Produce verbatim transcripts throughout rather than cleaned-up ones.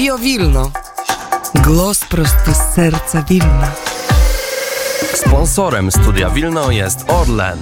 Radio Wilno. Głos prosto z serca Wilna. Sponsorem Studia Wilno jest Orlen.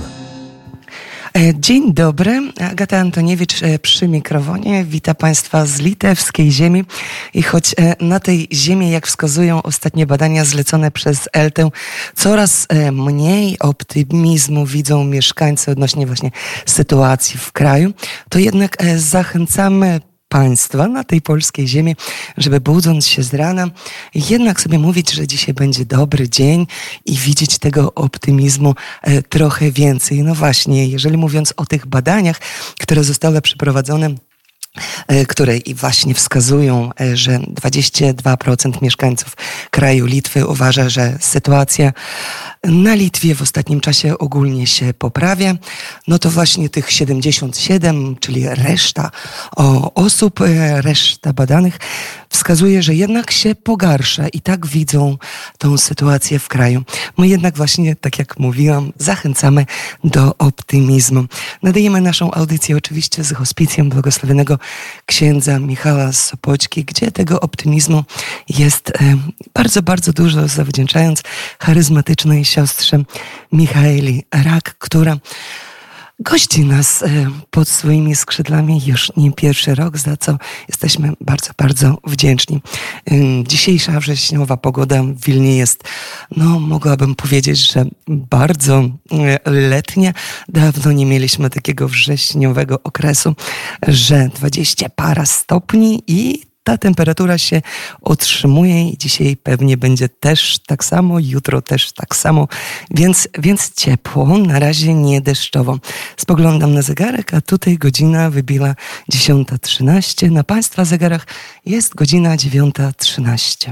Dzień dobry, Agata Antoniewicz przy mikrofonie. Witam Państwa z litewskiej ziemi. I choć na tej ziemi, jak wskazują ostatnie badania zlecone przez Eltę, coraz mniej optymizmu widzą mieszkańcy odnośnie właśnie sytuacji w kraju, to jednak zachęcamy Państwa na tej polskiej ziemi, żeby budząc się z rana, jednak sobie mówić, że dzisiaj będzie dobry dzień i widzieć tego optymizmu e, trochę więcej. No właśnie, jeżeli mówiąc o tych badaniach, które zostały przeprowadzone, które i właśnie wskazują, że dwadzieścia dwa procent mieszkańców kraju Litwy uważa, że sytuacja na Litwie w ostatnim czasie ogólnie się poprawia, no to właśnie tych siedemdziesiąt siedem, czyli reszta osób, reszta badanych wskazuje, że jednak się pogarsza i tak widzą tą sytuację w kraju. My jednak właśnie, tak jak mówiłam, zachęcamy do optymizmu. Nadajemy naszą audycję oczywiście z hospicjum błogosławionego księdza Michała z Sopoćki, gdzie tego optymizmu jest bardzo, bardzo dużo, zawdzięczając charyzmatycznej siostrze Michaeli Rak, która gości nas pod swoimi skrzydłami już nie pierwszy rok, za co jesteśmy bardzo, bardzo wdzięczni. Dzisiejsza wrześniowa pogoda w Wilnie jest, no mogłabym powiedzieć, że bardzo letnia. Dawno nie mieliśmy takiego wrześniowego okresu, że dwadzieścia parę stopni i ta temperatura się utrzymuje i dzisiaj pewnie będzie też tak samo, jutro też tak samo, więc, więc ciepło, na razie nie deszczowo. Spoglądam na zegarek, a tutaj godzina wybiła dziesiąta trzynaście. Na Państwa zegarach jest godzina dziewiąta trzynaście.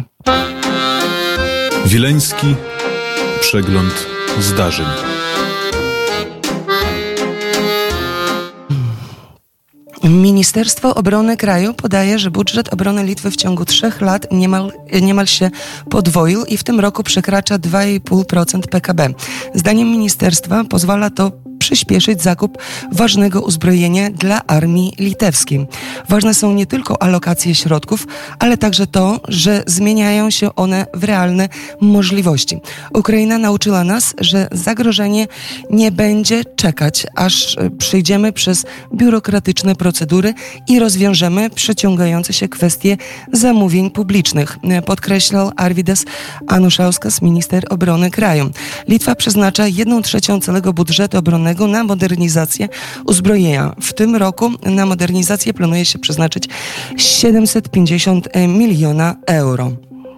Wileński przegląd zdarzeń. Ministerstwo Obrony kraju podaje, że budżet obrony Litwy w ciągu trzech lat niemal, niemal się podwoił i w tym roku przekracza dwa i pół procent P K B. Zdaniem ministerstwa pozwala to przyspieszyć zakup ważnego uzbrojenia dla armii litewskiej. Ważne są nie tylko alokacje środków, ale także to, że zmieniają się one w realne możliwości. Ukraina nauczyła nas, że zagrożenie nie będzie czekać, aż przejdziemy przez biurokratyczne procedury i rozwiążemy przeciągające się kwestie zamówień publicznych, podkreślał Arvydas Anušauskas, minister obrony kraju. Litwa przeznacza jedną trzecią całego budżetu obronnego na modernizację uzbrojenia. W tym roku na modernizację planuje się przeznaczyć siedemset pięćdziesiąt miliona euro.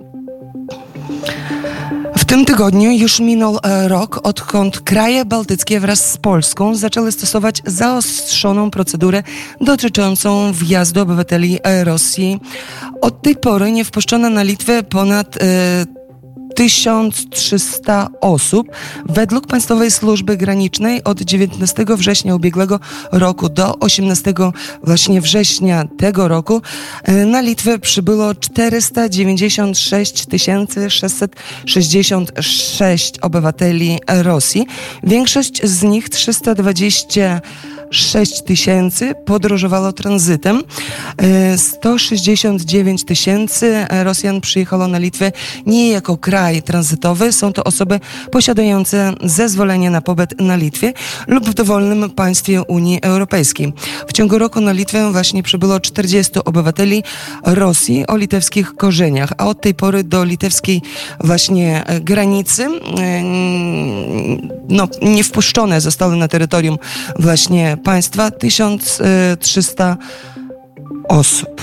W tym tygodniu już minął rok, odkąd kraje bałtyckie wraz z Polską zaczęły stosować zaostrzoną procedurę dotyczącą wjazdu obywateli Rosji. Od tej pory nie wpuszczono na Litwę ponad e, tysiąc trzysta osób. Według Państwowej Służby Granicznej od dziewiętnastego września ubiegłego roku do osiemnastego właśnie września tego roku na Litwę przybyło czterysta dziewięćdziesiąt sześć tysięcy sześćset sześćdziesiąt sześć obywateli Rosji. Większość z nich, trzysta dwadzieścia sześć tysięcy, podróżowało tranzytem. sto sześćdziesiąt dziewięć tysięcy Rosjan przyjechało na Litwę nie jako kraj tranzytowy. Są to osoby posiadające zezwolenie na pobyt na Litwie lub w dowolnym państwie Unii Europejskiej. W ciągu roku na Litwę właśnie przybyło czterdziestu obywateli Rosji o litewskich korzeniach, a od tej pory do litewskiej właśnie granicy no, nie wpuszczone zostały na terytorium właśnie państwa tysiąc trzysta osób.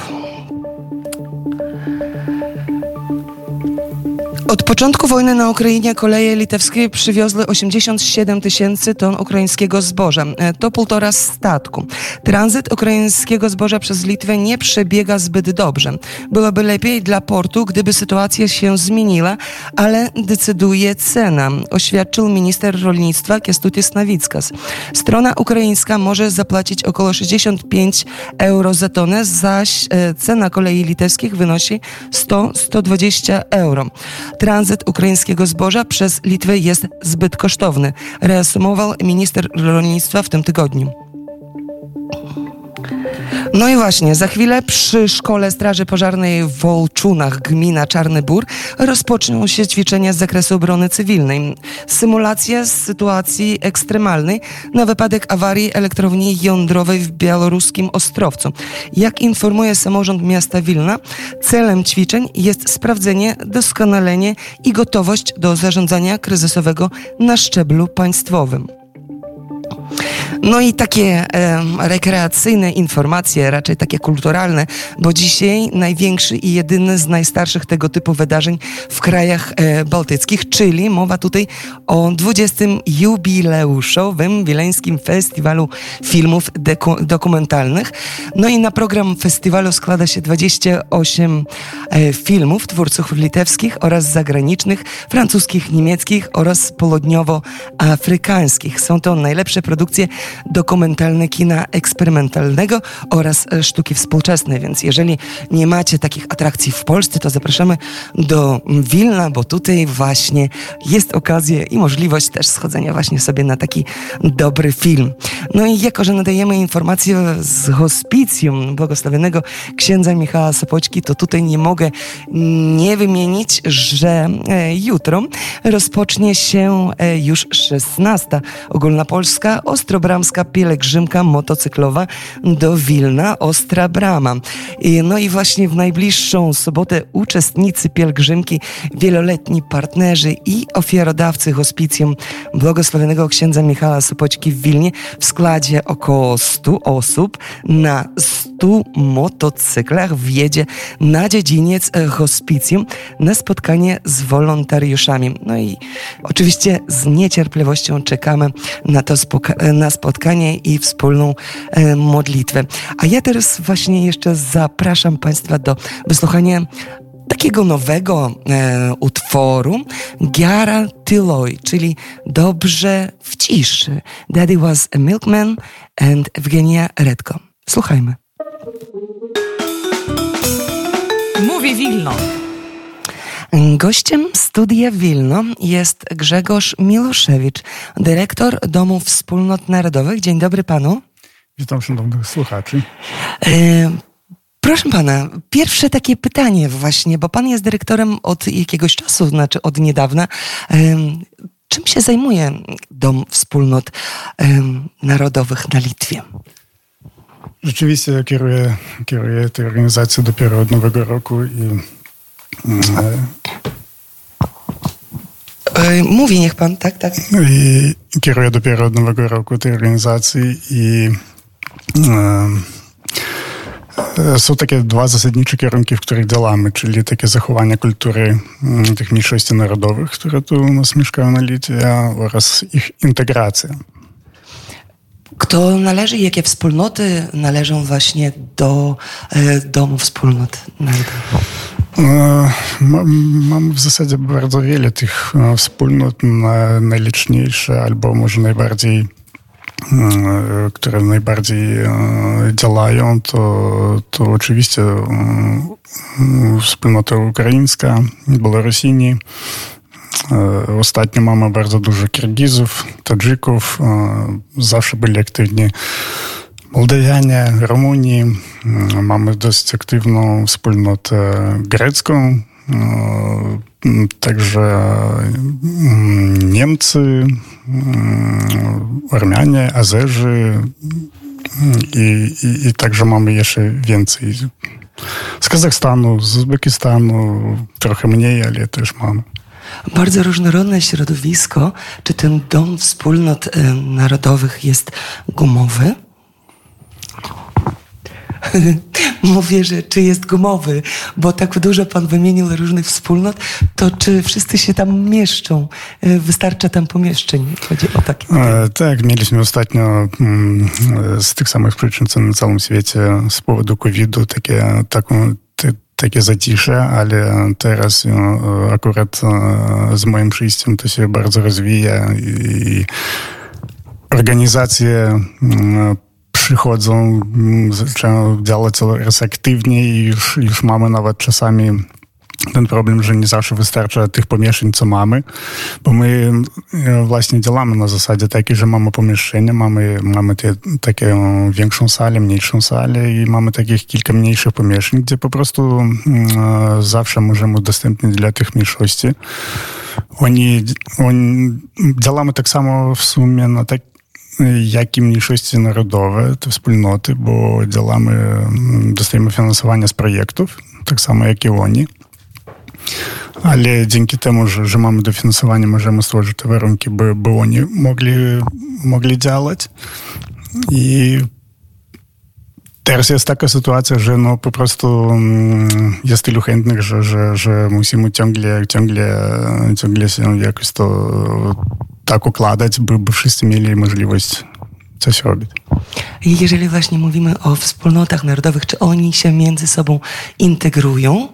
Od początku wojny na Ukrainie koleje litewskie przywiozły osiemdziesiąt siedem tysięcy ton ukraińskiego zboża. To półtora statku. Tranzyt ukraińskiego zboża przez Litwę nie przebiega zbyt dobrze. Byłoby lepiej dla portu, gdyby sytuacja się zmieniła, ale decyduje cena, oświadczył minister rolnictwa Kęstutis Navickas. Strona ukraińska może zapłacić około sześćdziesiąt pięć euro za tonę, zaś cena kolei litewskich wynosi sto do stu dwudziestu euro. Tranzyt ukraińskiego zboża przez Litwę jest zbyt kosztowny, reasumował minister rolnictwa w tym tygodniu. No i właśnie, za chwilę przy Szkole Straży Pożarnej w Wolczunach, gmina Czarny Bór, rozpoczną się ćwiczenia z zakresu obrony cywilnej. Symulacja z sytuacji ekstremalnej na wypadek awarii elektrowni jądrowej w białoruskim Ostrowcu. Jak informuje samorząd miasta Wilna, celem ćwiczeń jest sprawdzenie, doskonalenie i gotowość do zarządzania kryzysowego na szczeblu państwowym. No i takie e, rekreacyjne informacje, raczej takie kulturalne, bo dzisiaj największy i jedyny z najstarszych tego typu wydarzeń w krajach e, bałtyckich, czyli mowa tutaj o dwudziestym jubileuszowym Wileńskim Festiwalu Filmów deku- Dokumentalnych. No i na program festiwalu składa się dwadzieścia osiem e, filmów twórców litewskich oraz zagranicznych, francuskich, niemieckich oraz południowoafrykańskich. Są to najlepsze produkcje dokumentalne kina eksperymentalnego oraz sztuki współczesnej, więc jeżeli nie macie takich atrakcji w Polsce, to zapraszamy do Wilna, bo tutaj właśnie jest okazja i możliwość też schodzenia właśnie sobie na taki dobry film. No i jako, że nadajemy informacje z hospicjum błogosławionego księdza Michała Sopoćki, to tutaj nie mogę nie wymienić, że jutro rozpocznie się już szesnasta ogólnopolska Ostrobramska pielgrzymka motocyklowa do Wilna, Ostra Brama. No i właśnie w najbliższą sobotę uczestnicy pielgrzymki, wieloletni partnerzy i ofiarodawcy hospicjum błogosławionego księdza Michała Sopoćki w Wilnie w składzie około stu osób na stu motocyklach wjedzie na dziedziniec hospicjum na spotkanie z wolontariuszami. No i oczywiście z niecierpliwością czekamy na to spoka- na spotkanie i wspólną e, modlitwę. A ja teraz właśnie jeszcze zapraszam Państwa do wysłuchania takiego nowego e, utworu Giara Tyloj, czyli Dobrze w ciszy. Daddy Was a Milkman and Evgenia Redko. Słuchajmy. Mówi Wilno. Gościem Studia Wilno jest Grzegorz Miloszewicz, dyrektor Domu Wspólnot Narodowych. Dzień dobry panu. Witam szanownych słuchaczy. E, proszę pana, pierwsze takie pytanie właśnie, bo pan jest dyrektorem od jakiegoś czasu, znaczy od niedawna. E, czym się zajmuje Dom Wspólnot e, Narodowych na Litwie? Rzeczywiście kieruję, kieruję tę organizację dopiero od nowego roku i Mówi niech pan, tak, tak. I kieruję dopiero od nowego roku tej organizacji i e, są takie dwa zasadnicze kierunki, w których działamy, czyli takie zachowanie kultury tych mniejszości narodowych, które tu u nas mieszkają na Litwie, oraz ich integracja. Kto należy, jakie wspólnoty należą właśnie do e, Domu Wspólnot Narodowych? Mamy w zasadzie bardzo wiele tych wspólnot. Najliczniejsze albo może najbardziej, które najbardziej działają, to, to oczywiście wspólnota ukraińska, Białorusini. Ostatnio mamy bardzo dużo Kirgizów, Tadżyków. Zawsze byli aktywni Mołdawianie, Rumunii. Mamy dosyć aktywną wspólnotę grecką, także Niemcy, Ormianie, Azerzy i, i, i także mamy jeszcze więcej z Kazachstanu, z Uzbekistanu, trochę mniej, ale też mamy. Bardzo różnorodne środowisko. Czy ten Dom Wspólnot Narodowych jest gumowy? Mówię, że czy jest gumowy, bo tak dużo pan wymienił różnych wspólnot, to czy wszyscy się tam mieszczą? Wystarcza tam pomieszczeń? Chodzi o takie. E, tak, mieliśmy ostatnio mm, z tych samych przyczyn, co na całym świecie, z powodu kowida takie, taką, te, takie zacisze, ale teraz e, akurat e, z moim przyjściem to się bardzo rozwija i organizacje e, przychodzą, zaczynają działać coraz aktywniej i już, już mamy nawet czasami ten problem, że nie zawsze wystarcza tych pomieszczeń, co mamy, bo my właśnie działamy na zasadzie takiej, że mamy pomieszczenia, mamy, mamy te, taką większą salę, mniejszą salę i mamy takich kilka mniejszych pomieszczeń, gdzie po prostu e, zawsze możemy udostępnić dla tych mniejszości. Oni, oni, działamy tak samo w sumie na tak, jak i mniejszości narodowe, te wspólnoty, bo działamy, dostajemy finansowanie z projektów, tak samo jak i oni. Ale dzięki temu, że, że mamy dofinansowanie, możemy stworzyć te warunki, by, by oni mogli, mogli działać. I teraz jest taka sytuacja, że no po prostu jest tylu chętnych, że, że, że musimy ciągle, ciągle, ciągle się jakoś to tak układać, by, by wszyscy mieli możliwość coś robić. I jeżeli właśnie mówimy o wspólnotach narodowych, czy oni się między sobą integrują?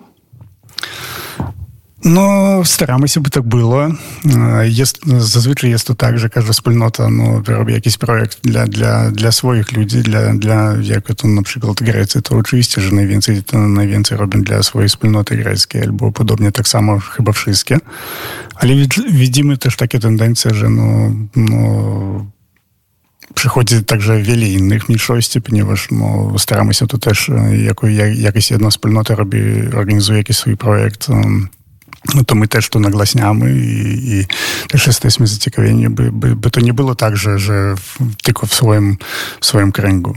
No, staramy się, by tak było. Jest, zazwyczaj jest to tak, że każda wspólnota no, robi jakiś projekt dla, dla, dla swoich ludzi, dla, dla jak to na przykład Grecy, to oczywiście, że najwięcej, to najwięcej robią dla swojej wspólnoty greckiej, albo podobnie tak samo chyba wszystkie. Ale widzimy też takie tendencje, że no, no przychodzi także wiele innych mniejszości, ponieważ no, staramy się to też, jako jak, jakaś jedna wspólnota robi, organizuje jakiś swój projekt, no to my też to nagłaśniamy i, i też jesteśmy zaciekawieni, by, by, by to nie było tak, że, że w, tylko w swoim, w swoim kręgu.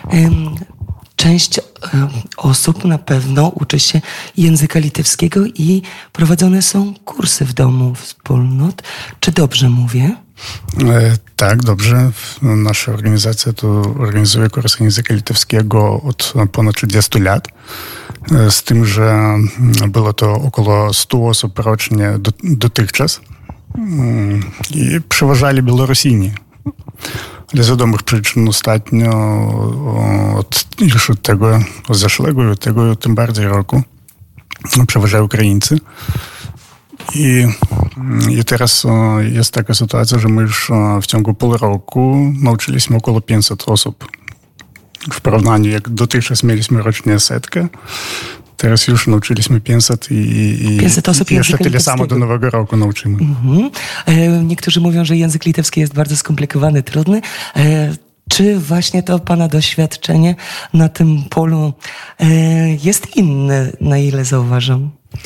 Część osób na pewno uczy się języka litewskiego i prowadzone są kursy w domu wspólnot. Czy dobrze mówię? E, tak, dobrze. Nasza organizacja to organizuje kursy języka litewskiego od ponad trzydziestu lat. E, z tym, że było to około stu osób rocznie do, dotychczas. Mm, I przeważali Białorusini. Ale z wiadomych przyczyn ostatnio od, już od tego od zeszłego i od tego tym bardziej roku przeważają Ukraińcy. I, I teraz jest taka sytuacja, że my już w ciągu pół roku nauczyliśmy około pięćset osób. W porównaniu jak dotychczas mieliśmy rocznie setkę, teraz już nauczyliśmy pięćset i, i, pięćset osób i jeszcze tyle samo do nowego roku nauczymy. Mhm. E, niektórzy mówią, że język litewski jest bardzo skomplikowany, trudny. E, czy właśnie to pana doświadczenie na tym polu e, jest inne, na ile zauważam?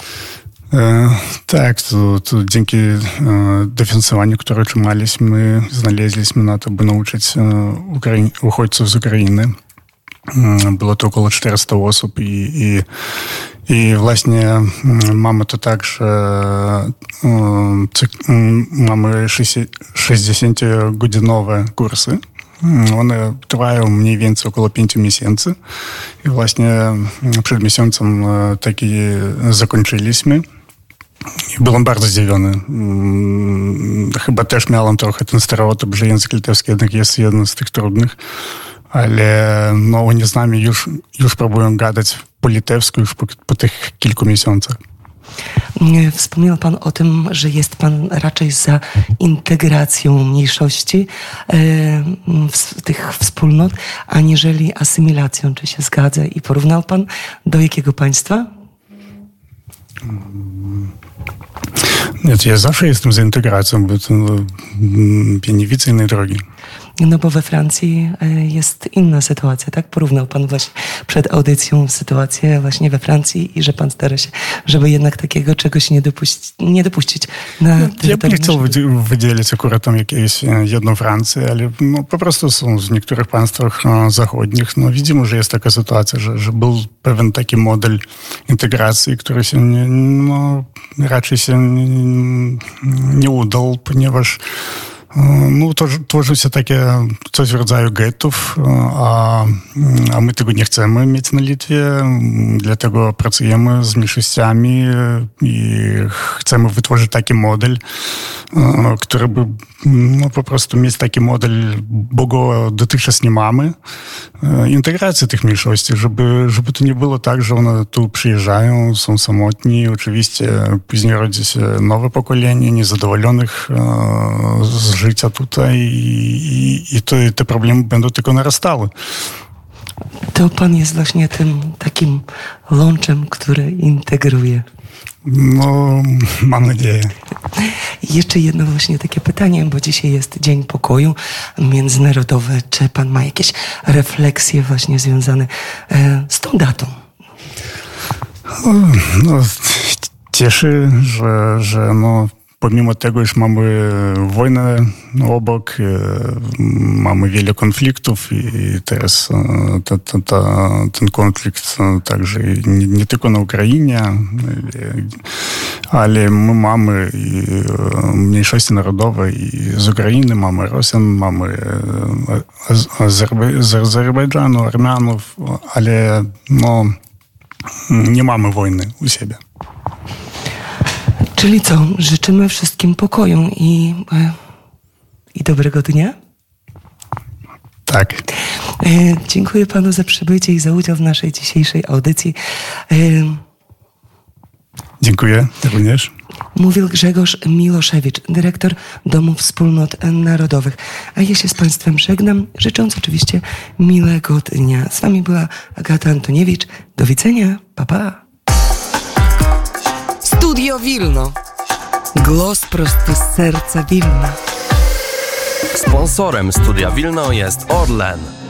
E, tak, to, to dzięki e, dofinansowaniu, które otrzymaliśmy, znaleźliśmy na to, by nauczyć e, Ukrai- uchodźców z Ukrainy. E, było to około czterysta osób i, i, i właśnie mamy to tak, że e, cyk- mamy sześćdziesięciogodzinowe kursy. One trwają mniej więcej około pięciu miesięcy i właśnie przed miesiącem taki zakończyliśmy. I byłem bardzo zdziwiony. Chyba też miałem trochę ten stereotyp, że język litewski jednak jest jeden z tych trudnych, ale no, oni z nami już, już próbują gadać po litewsku już po, po tych kilku miesiącach. Wspomniał pan o tym, że jest pan raczej za integracją mniejszości w tych wspólnot, aniżeli asymilacją. Czy się zgadza? I porównał pan do jakiego państwa? Nie, ja zawsze jestem za integracją, bo to, ja nie widzę innej drogi. No bo we Francji jest inna sytuacja, tak? Porównał pan właśnie przed audycją sytuację właśnie we Francji i że pan stara się, żeby jednak takiego czegoś nie dopuścić, nie dopuścić na terytorium. Ja nie chciał wydzielić akurat tam jakieś jedną Francję, ale no, po prostu są w niektórych państwach zachodnich. No, widzimy, że jest taka sytuacja, że, że był pewien taki model integracji, który się nie, no, raczej się nie, nie udał, ponieważ no, to tworzy się takie coś w rodzaju gettów, a, a my tego nie chcemy mieć na Litwie, dlatego pracujemy z mniejszościami i chcemy wytworzyć taki model, który by no, po prostu mieć taki model, bo go dotychczas nie mamy, integracji tych mniejszości, żeby, żeby to nie było tak, że one tu przyjeżdżają, są samotni, oczywiście później rodzi się nowe pokolenie niezadowolonych z życia tutaj i, i to, te problemy będą tylko narastały. To pan jest właśnie tym takim łączem, który integruje. No, mam nadzieję. Jeszcze jedno właśnie takie pytanie, bo dzisiaj jest Dzień Pokoju Międzynarodowy. Czy pan ma jakieś refleksje właśnie związane e, z tą datą? No, cieszy, że, że no, pomimo tego, iż mamy wojnę obok, mamy wiele konfliktów i teraz ta, ta, ta, ten konflikt także nie, nie tylko na Ukrainie, ale my mamy i mniejszości narodowe i z Ukrainy, mamy Rosjan, mamy z Azerbejdżanu, Armianów, ale no, nie mamy wojny u siebie. Czyli co? Życzymy wszystkim pokoju i, i dobrego dnia? Tak. E, dziękuję panu za przybycie i za udział w naszej dzisiejszej audycji. E, Dziękuję również. Mówił Grzegorz Miloszewicz, dyrektor Domu Wspólnot Narodowych. A ja się z państwem żegnam, życząc oczywiście miłego dnia. Z wami była Agata Antoniewicz. Do widzenia. Pa, pa. Studio Wilno. Głos prosto z serca Wilna. Sponsorem Studia Wilno jest Orlen.